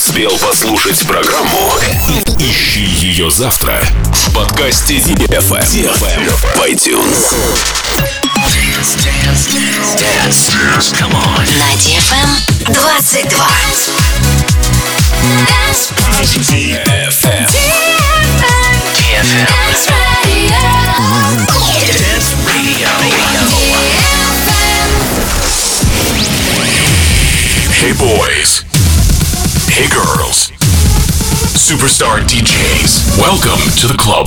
успел послушать программу, ищи ее завтра в подкасте DFM в iTunes. Dance. Come on. На DFM 22. DFM. Dance Radio. Hey boys. Hey girls. Superstar DJs. Welcome to the club.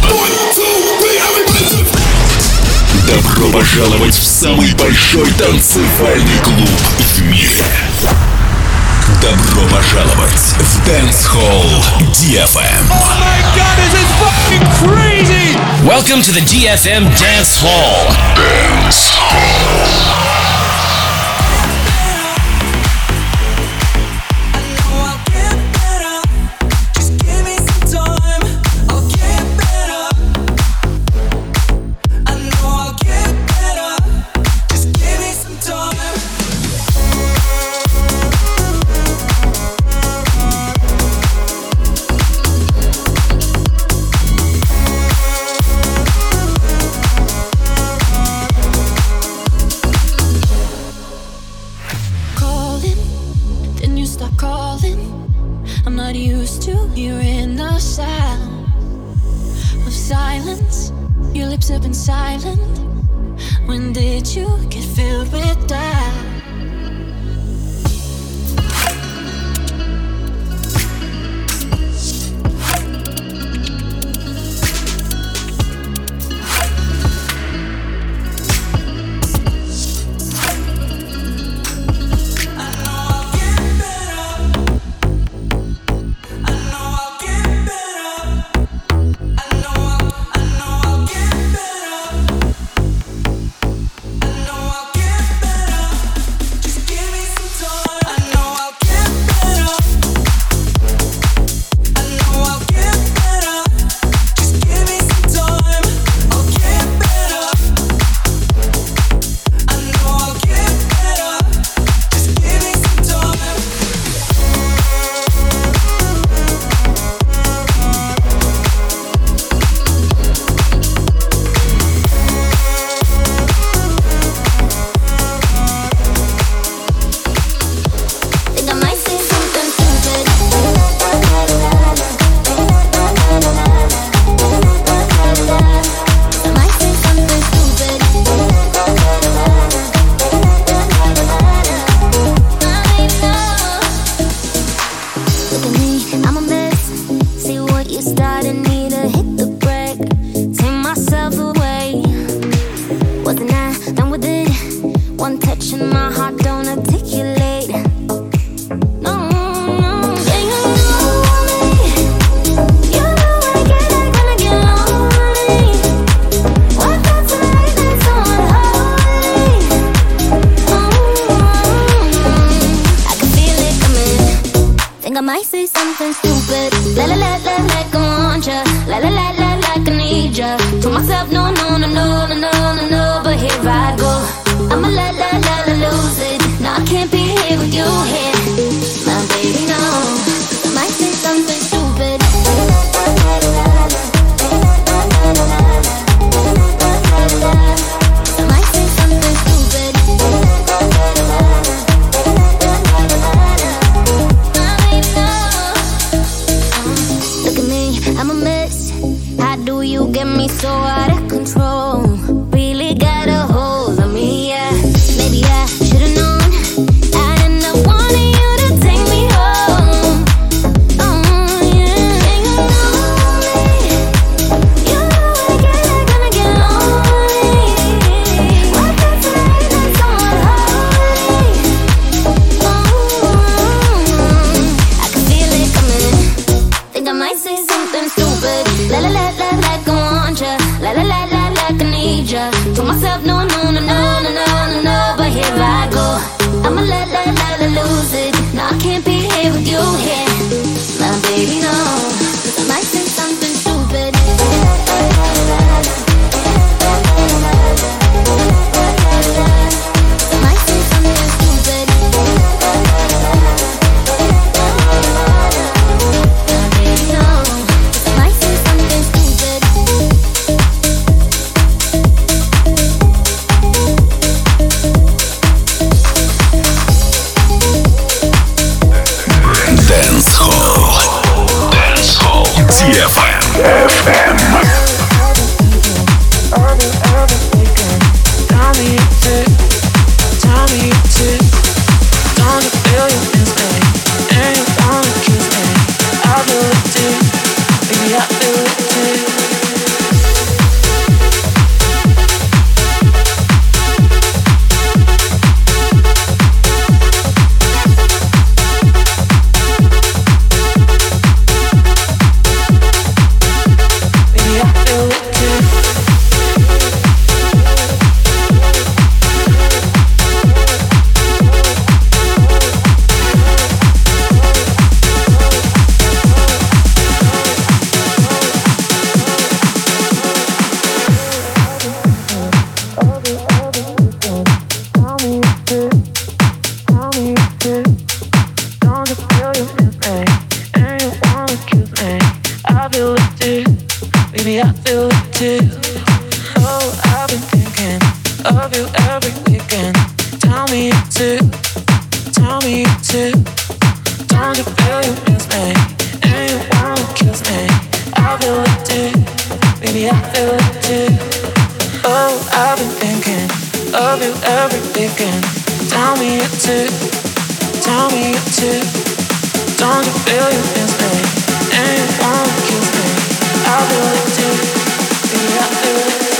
Добро пожаловать в самый большой танцевальный клуб в мире. Добро пожаловать в Dance Hall DFM. Oh my god, this is fucking crazy! Welcome to the DFM Dance Hall. Dance Hall. again. Tell me it too. Tell me it too. Don't you feel you can stay? And you wanna kiss me. I feel it too. Yeah, I feel it too.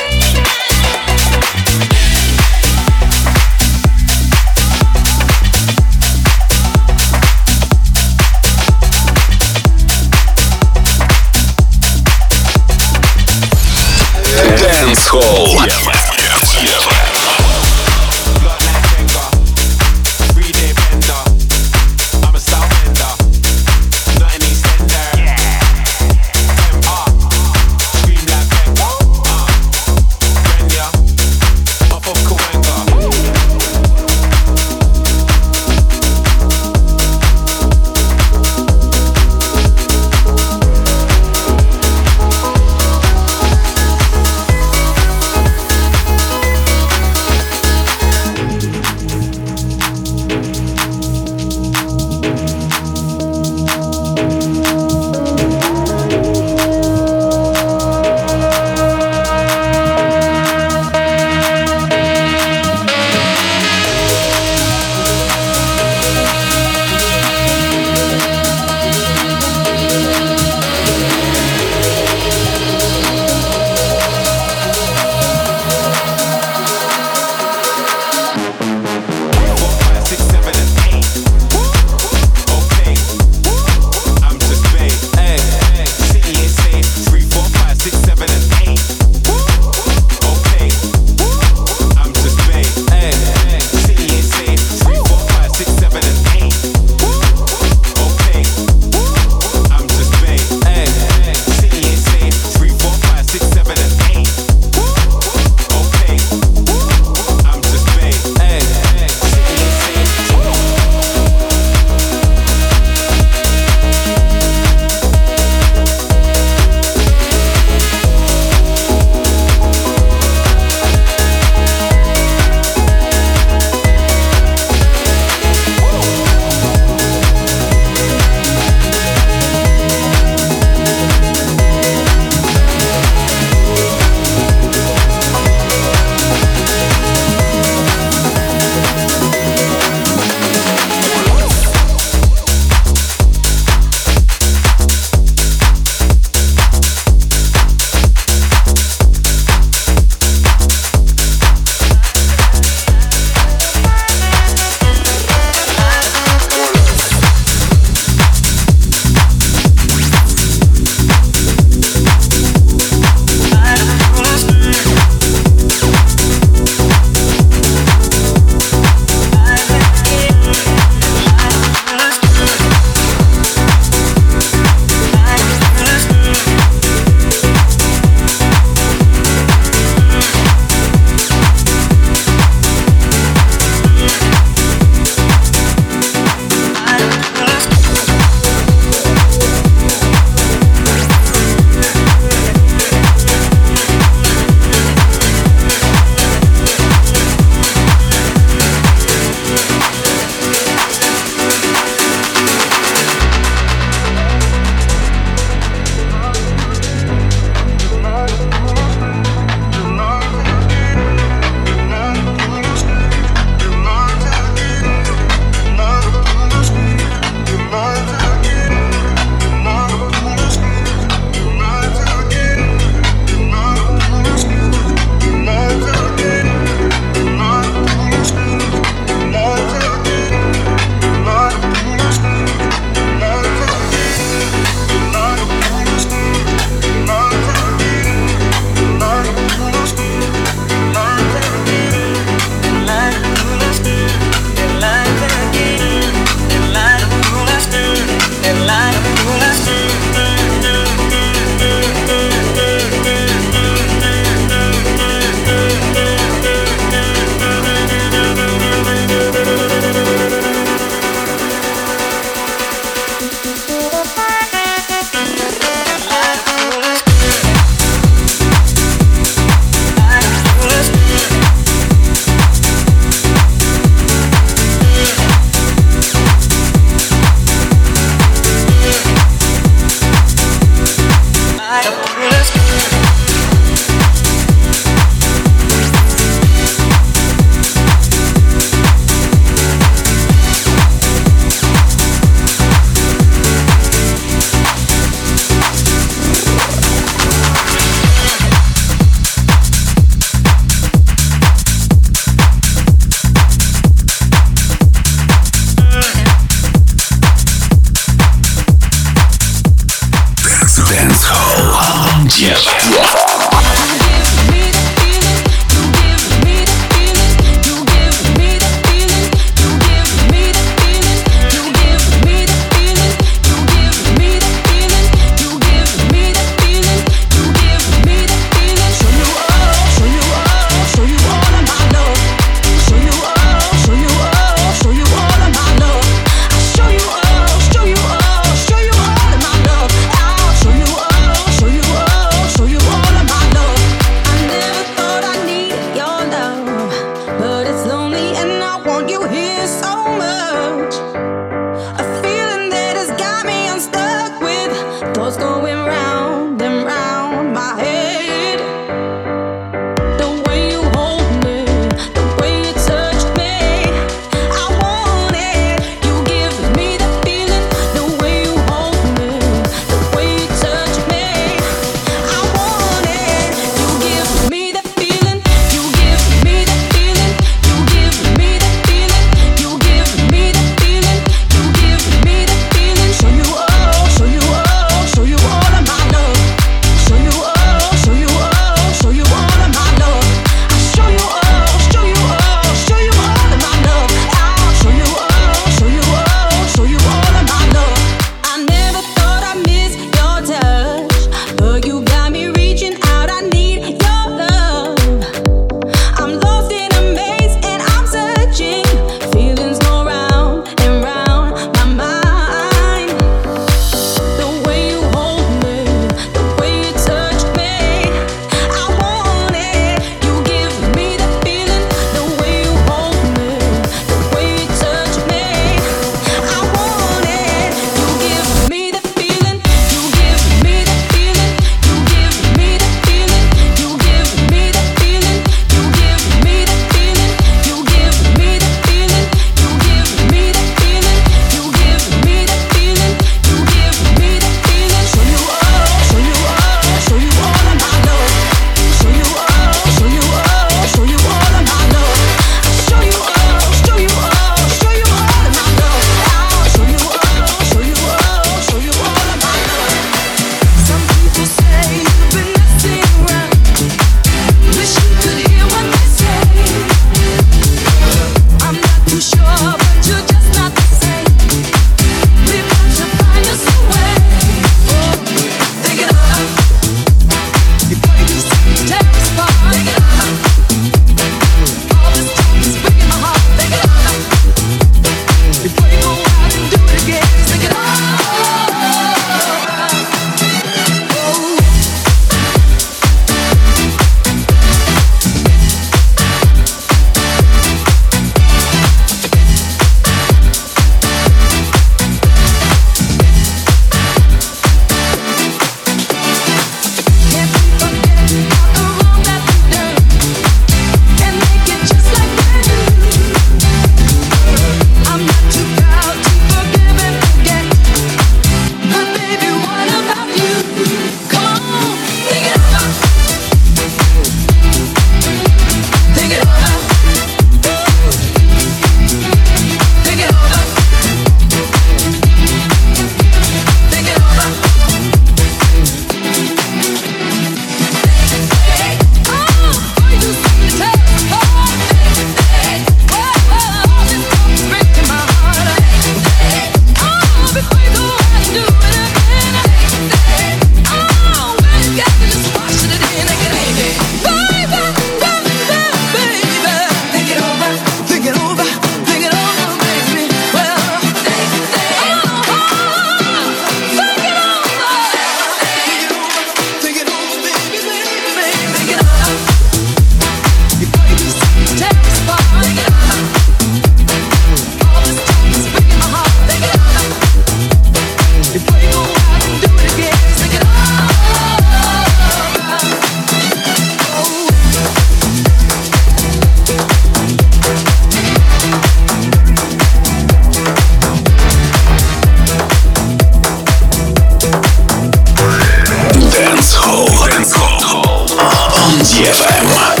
DFM.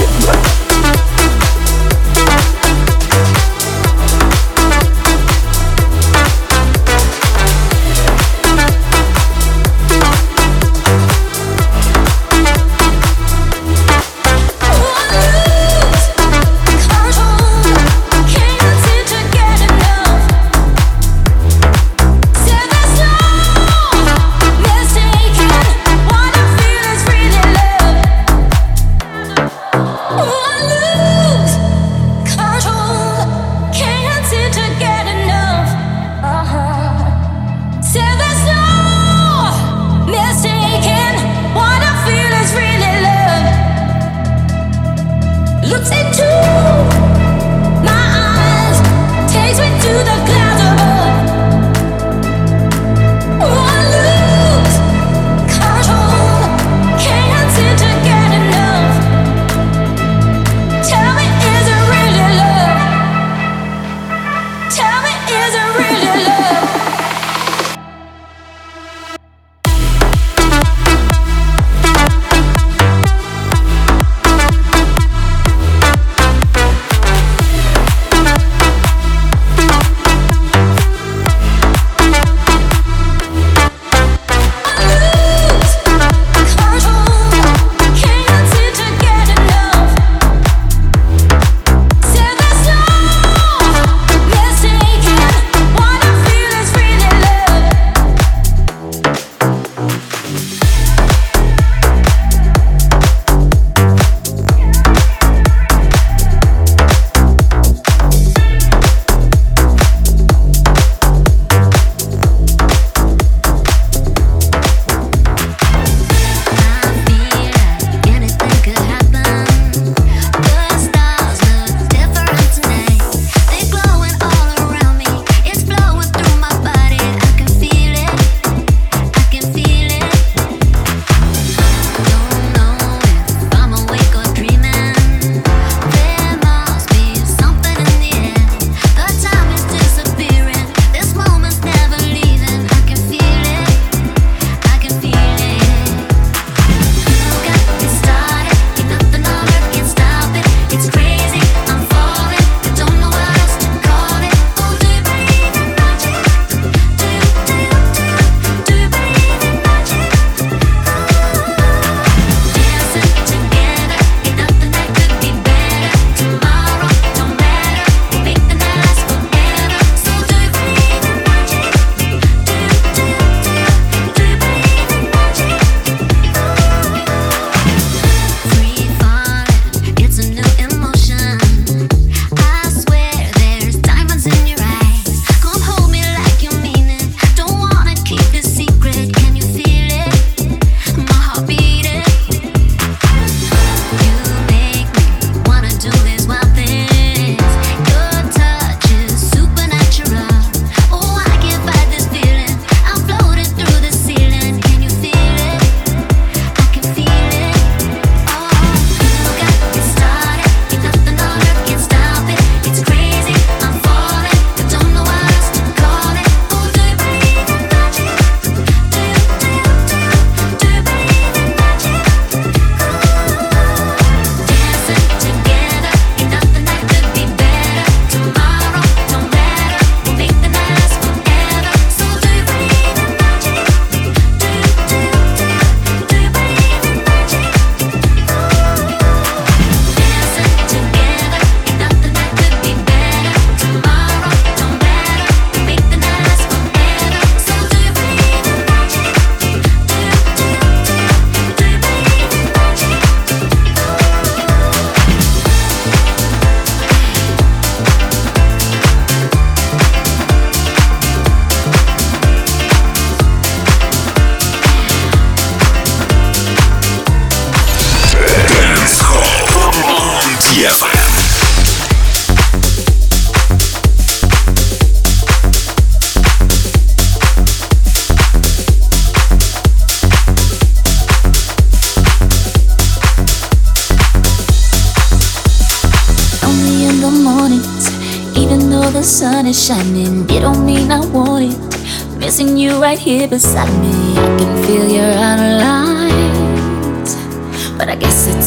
the sun is shining, it don't mean I want it. Missing you right here beside me, I can feel your outer lines. But I guess it's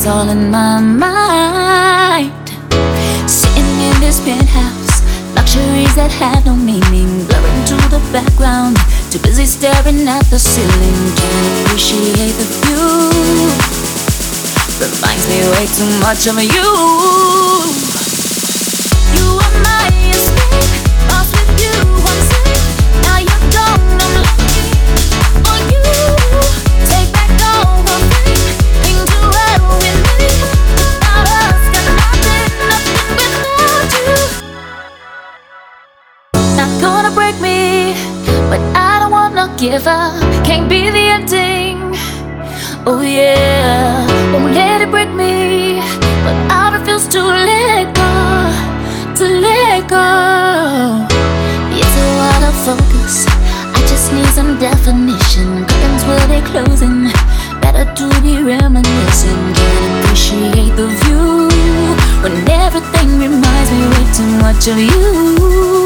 it's all in my mind. Sitting in this penthouse, luxuries that have no meaning, blurring to the background, too busy staring at the ceiling. Can't appreciate the view, reminds me way too much of you. You are my escape, lost with you, I'm safe. Now you're gone, I'm lucky for you. Take back all the things you had with me. Without us, got nothing without you. Not gonna break me, but I don't wanna give up. Can't be the ending. Oh yeah, won't let it break me, but I refuse to let go, to let go. It's a lot of focus, I just need some definition. Curtains will be closing, better to be reminiscing. Can't appreciate the view when everything reminds me way too much of you.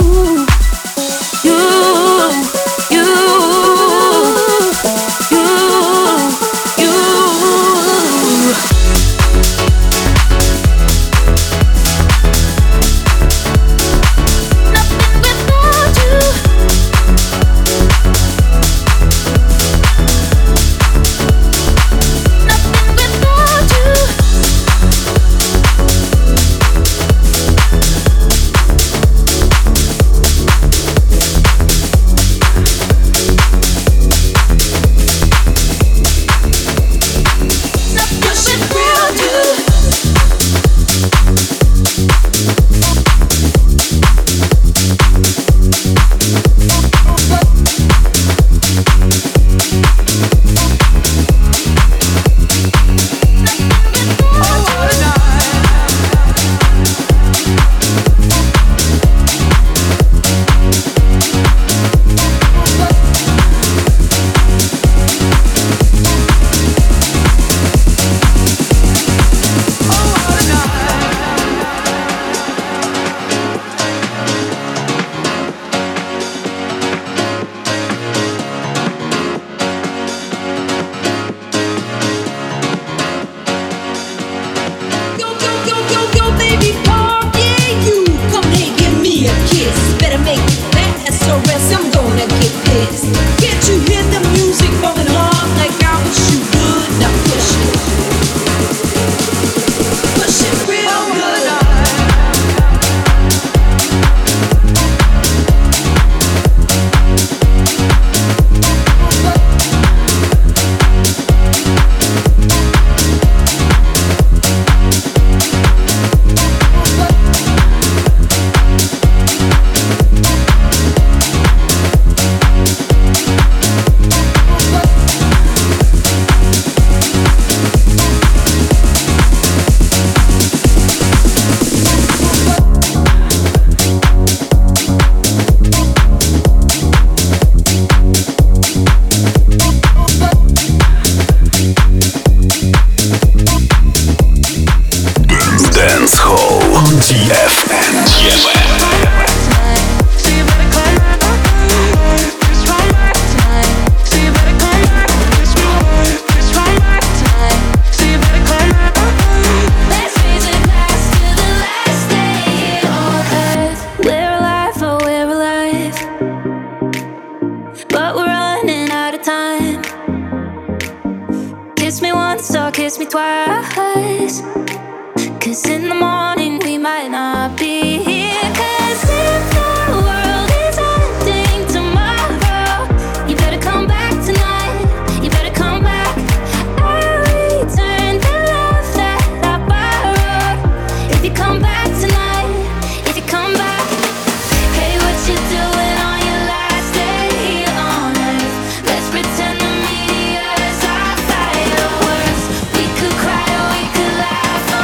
kiss me twice. 'Cause in the morning we might not be here. 'Cause if the world is ending tomorrow, you better come back tonight. You better come back. I'll return the love that I borrowed. If you come back tonight, if you come back. Hey, what you doing on your last day here on earth? Let's pretend the meteors are fireworks. We could cry or we could laugh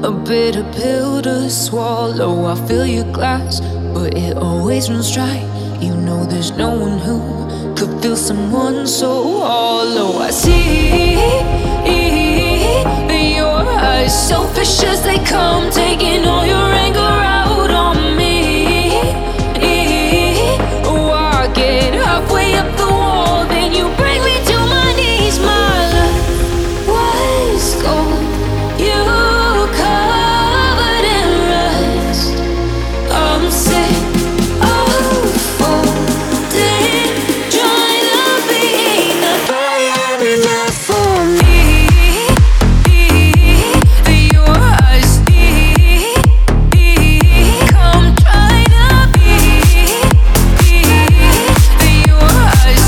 A bitter pill to swallow. I fill your glass, but it always runs dry. You know there's no one who could feel someone so hollow. I see your eyes, selfish as they come, taking all your anger out on me. Oh, I get halfway up the wall, then you bring me to my knees. My love was gold, you covered in rust. I'm sick of folding, trying to be enough. I am enough for me. Your eyes come try to be. Your eyes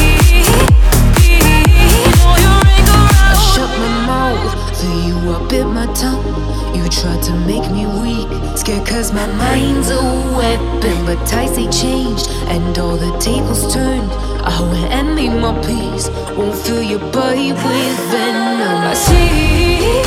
all your anger out. I shut my mouth for you, I bit my tongue. You tried to make me weak, scared cause my mind's a weapon. But tides they changed and all the tables turned. I went and made my peace, won't fill your body with venom. I see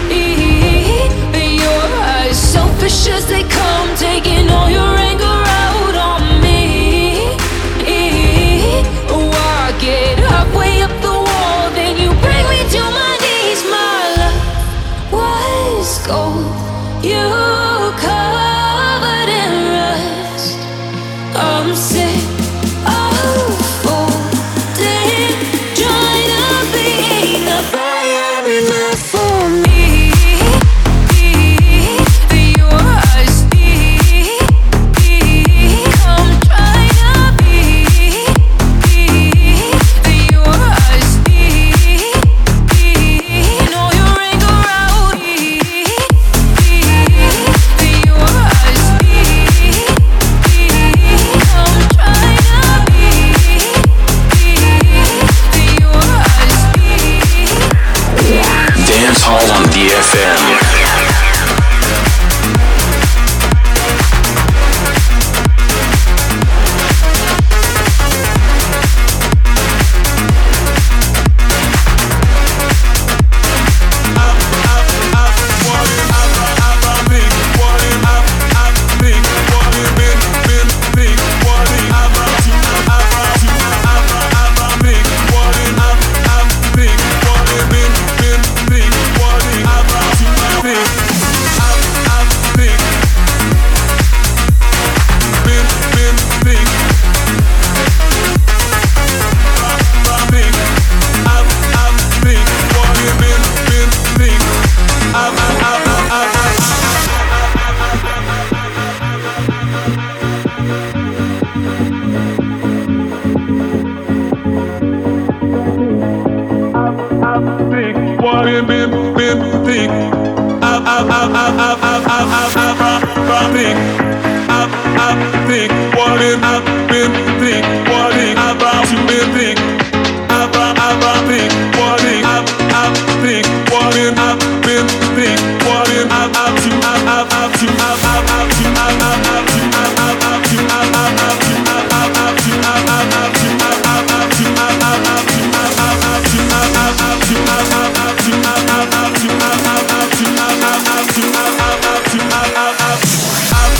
your eyes, selfish as they come, taking all your anger out on me. Oh, I get halfway up the wall, then you bring me to my knees. My love was gold, you covered in rust. I'm sick of folding, trying to be enough. I am enough for me. Your eyes come try to be. Your eyes all your anger out. Your eyes come try to be. Your eyes. Dance Hall on DFM.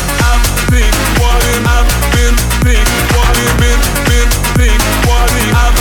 What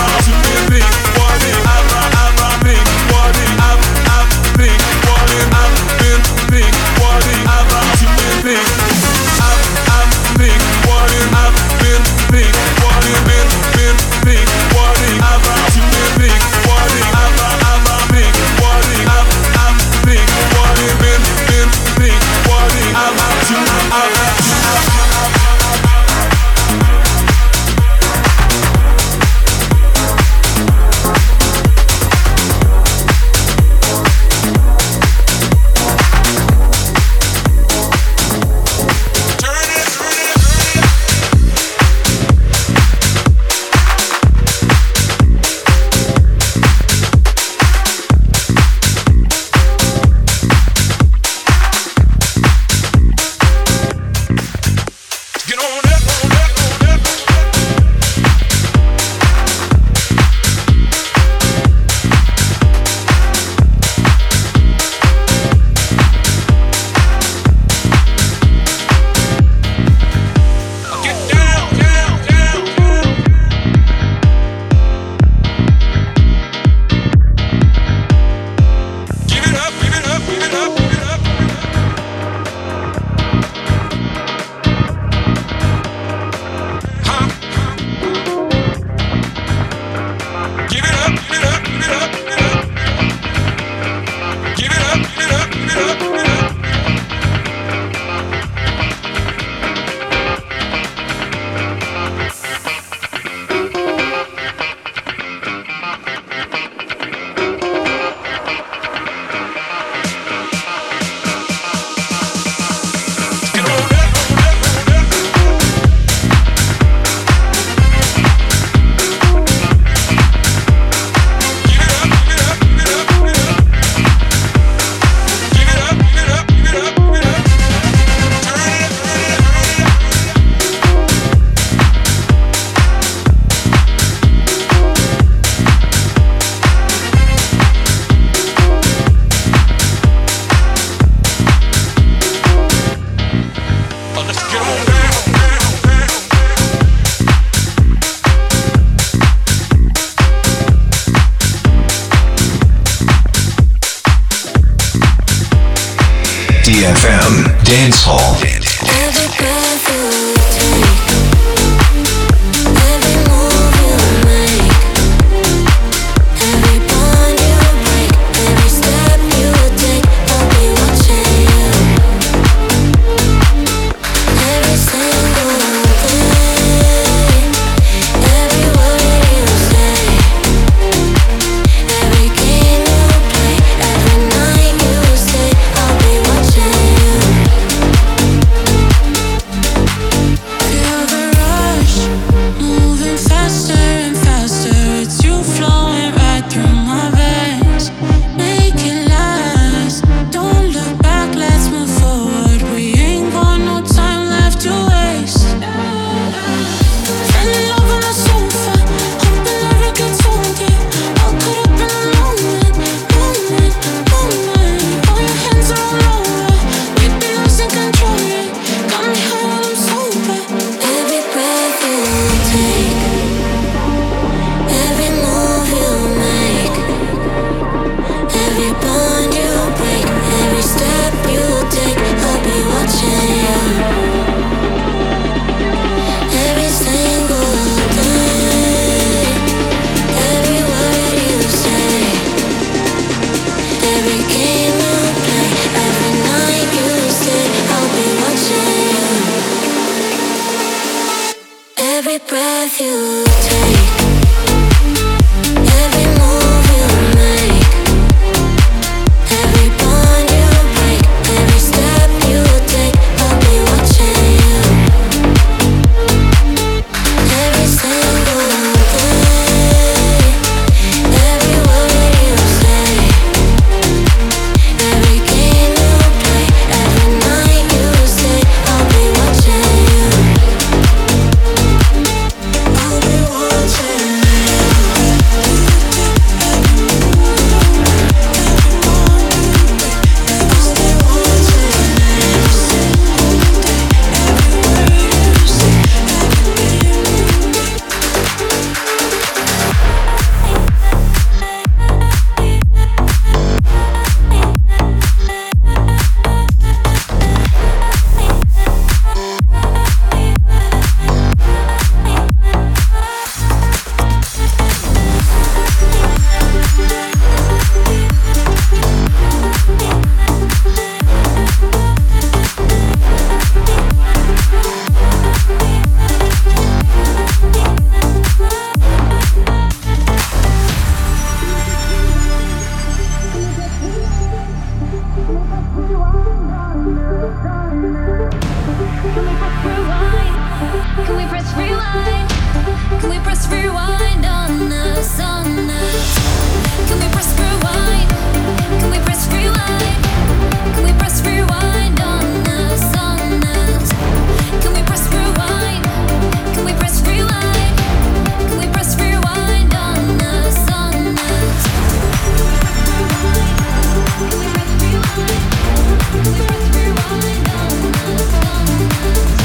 Dance Hall. Every breath you take, every move you make, every bond you break, every step you take, I'll be watching you. Every single day, every word you say, every game you play, every night you stay, I'll be watching you. Feel the rush, moving faster and faster. It's you flowing right through my veins. Make it last. Don't look back, let's move forward. We ain't got no time left to waste. Fell in love on the sofa, hoping never gets old. Yeah, all caught up in the moment. All your hands are all over. We've been losing control. Yeah, got me high while I'm sober. Every breath you take, every move you make, every bond you break, every step you take, I'll be watching you. Every single day, every word you say, every game you play, every night you stay, I'll be watching you. Every breath you take, every move you make, every bond you break, every step you take, I'll be watching you. Every single day, every word you say, every game you play, every night you stay, I'll be watching you. I'll be watching you. Can we press rewind? Can we press rewind on us, on us? Can we press rewind? Can we press rewind? Can we press rewind on us, on us? Can we press rewind? Can we press rewind? Can we press rewind on us, on us? Can we press rewind? Can we press rewind on us, on us?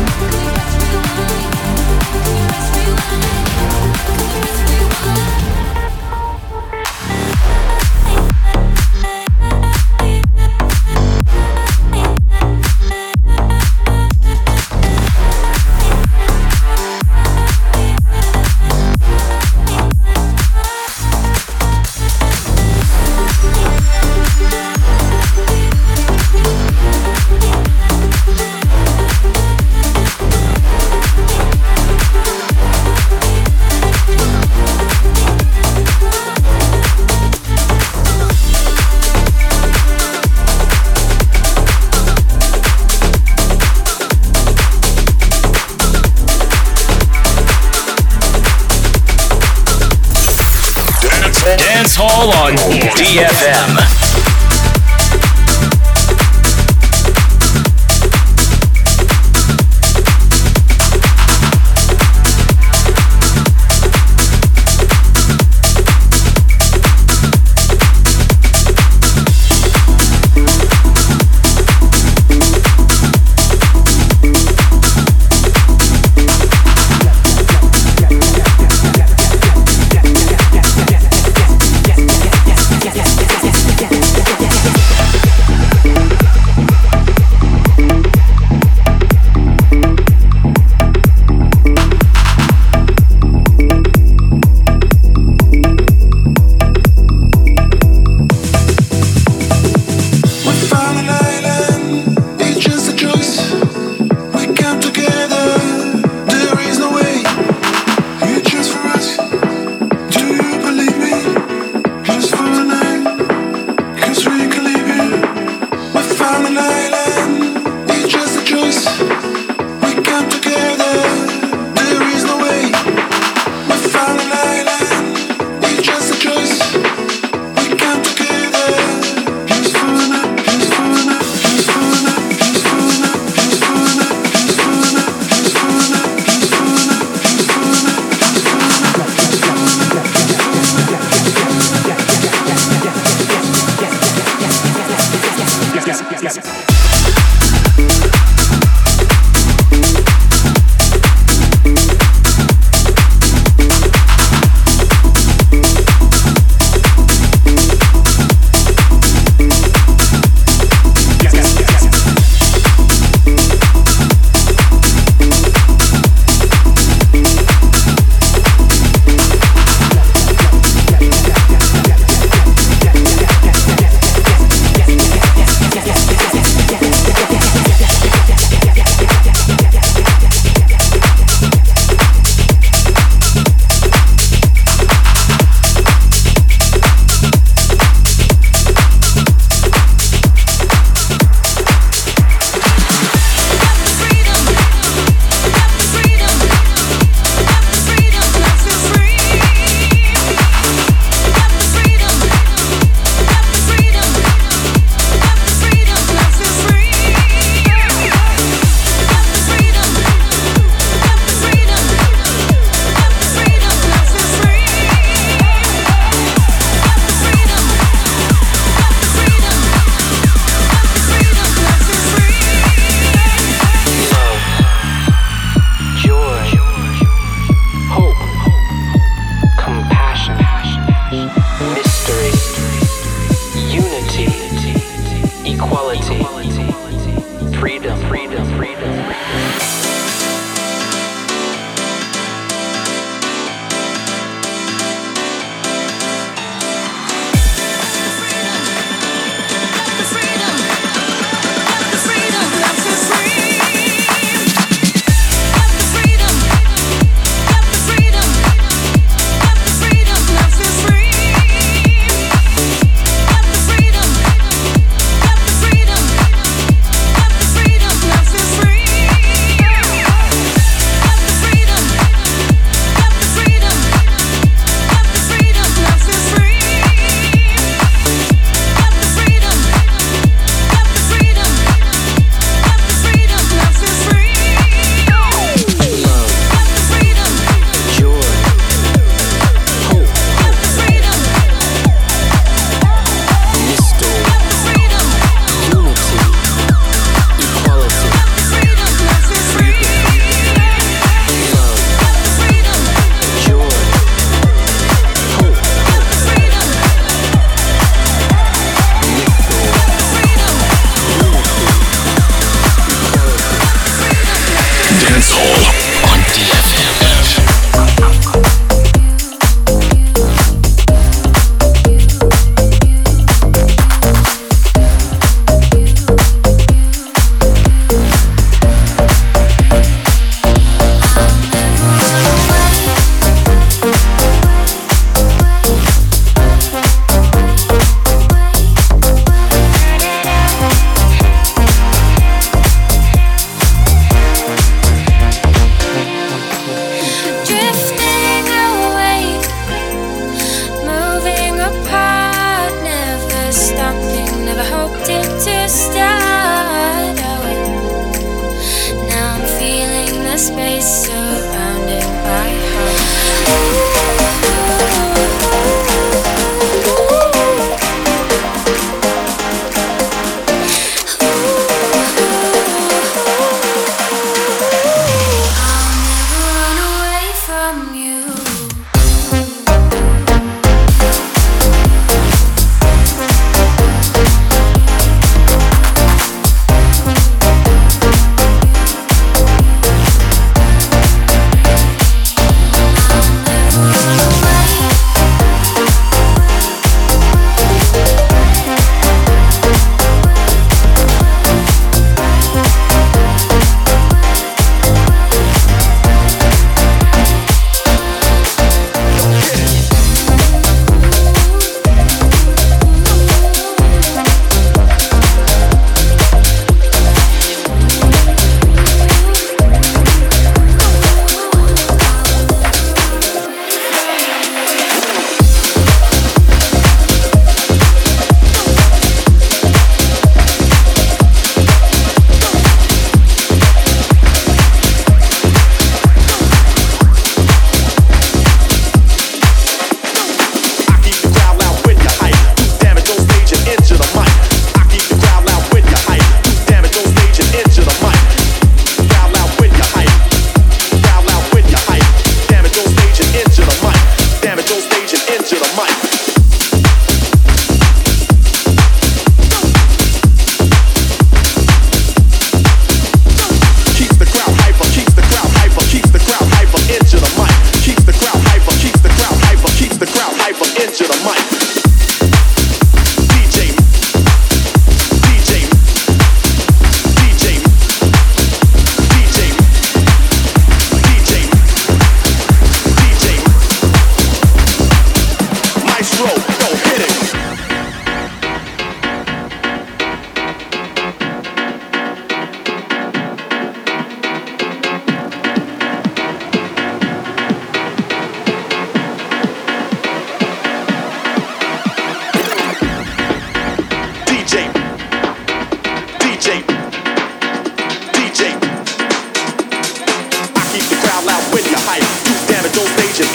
Dance Hall on DFM. Yeah.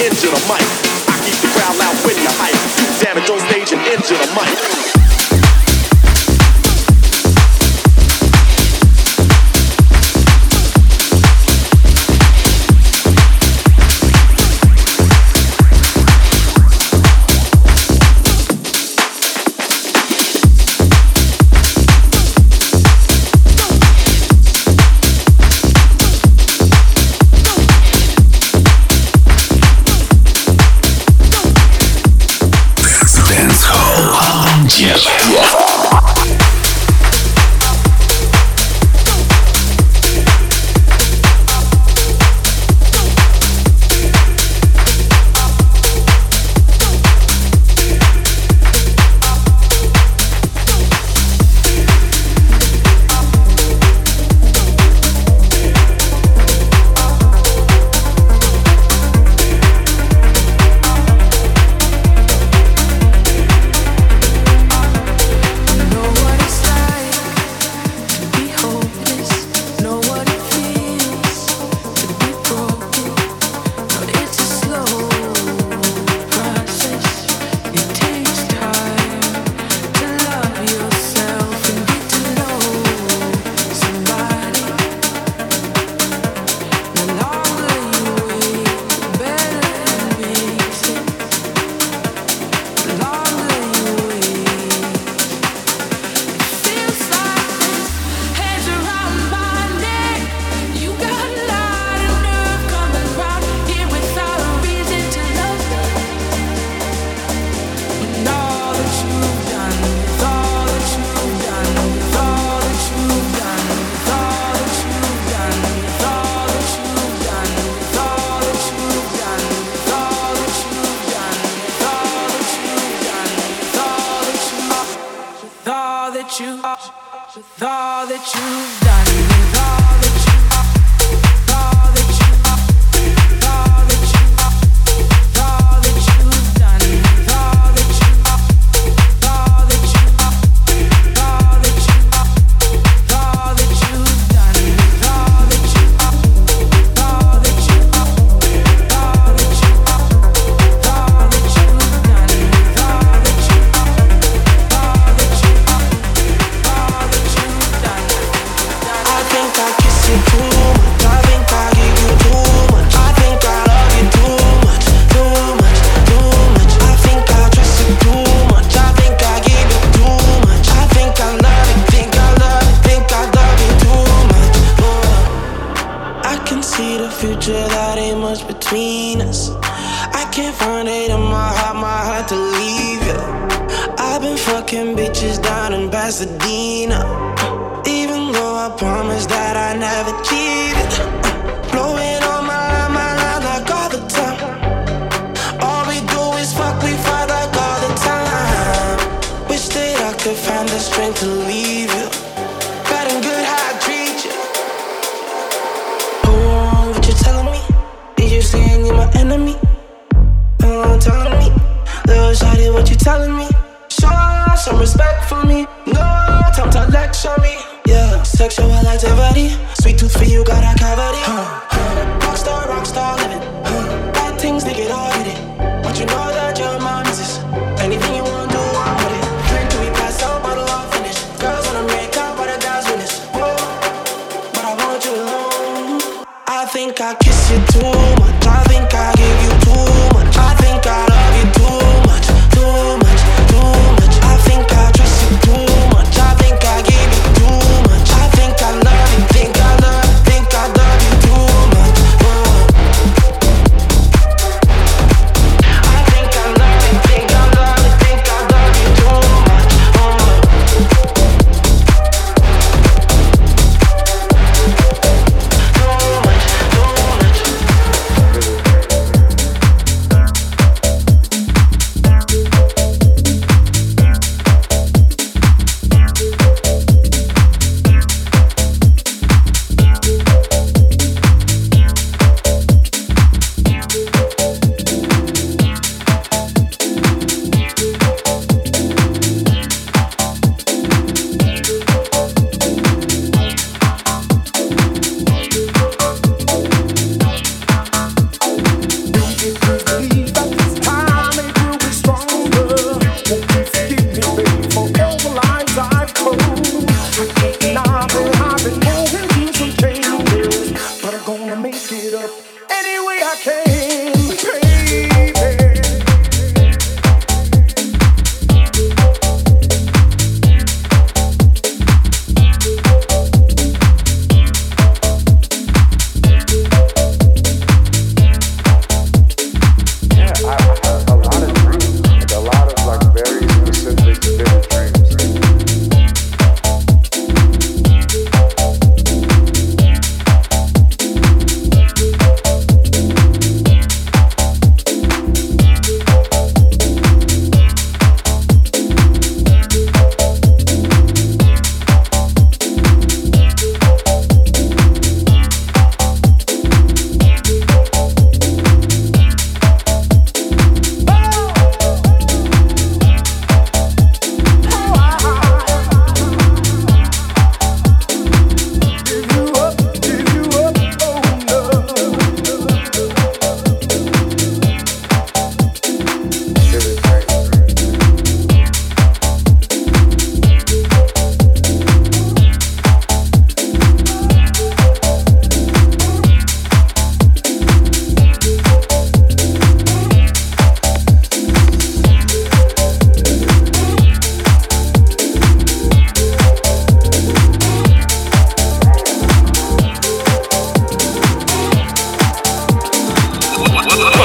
injure the mic. I keep the crowd loud when you hype. You damage on stage and injure the mic.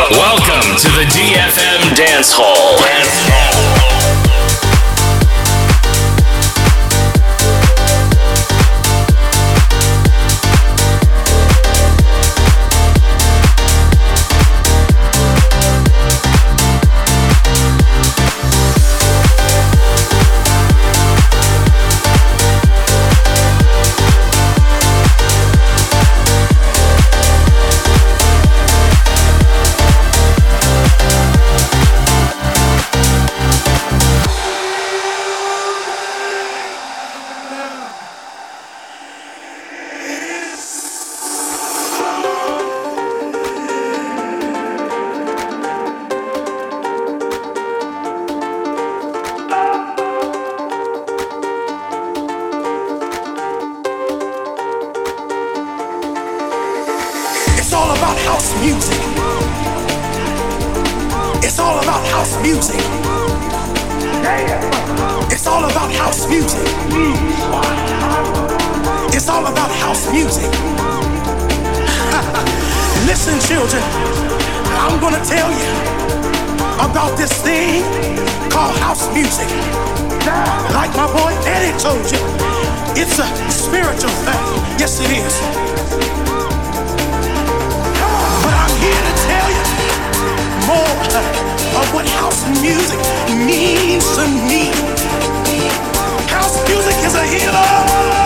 Welcome to the DFM Dance Hall. Listen, children, I'm gonna tell you about this thing called house music. Like my boy Eddie told you, it's a spiritual thing. Yes, it is. But I'm here to tell you more of what house music means to me. House music is a healer.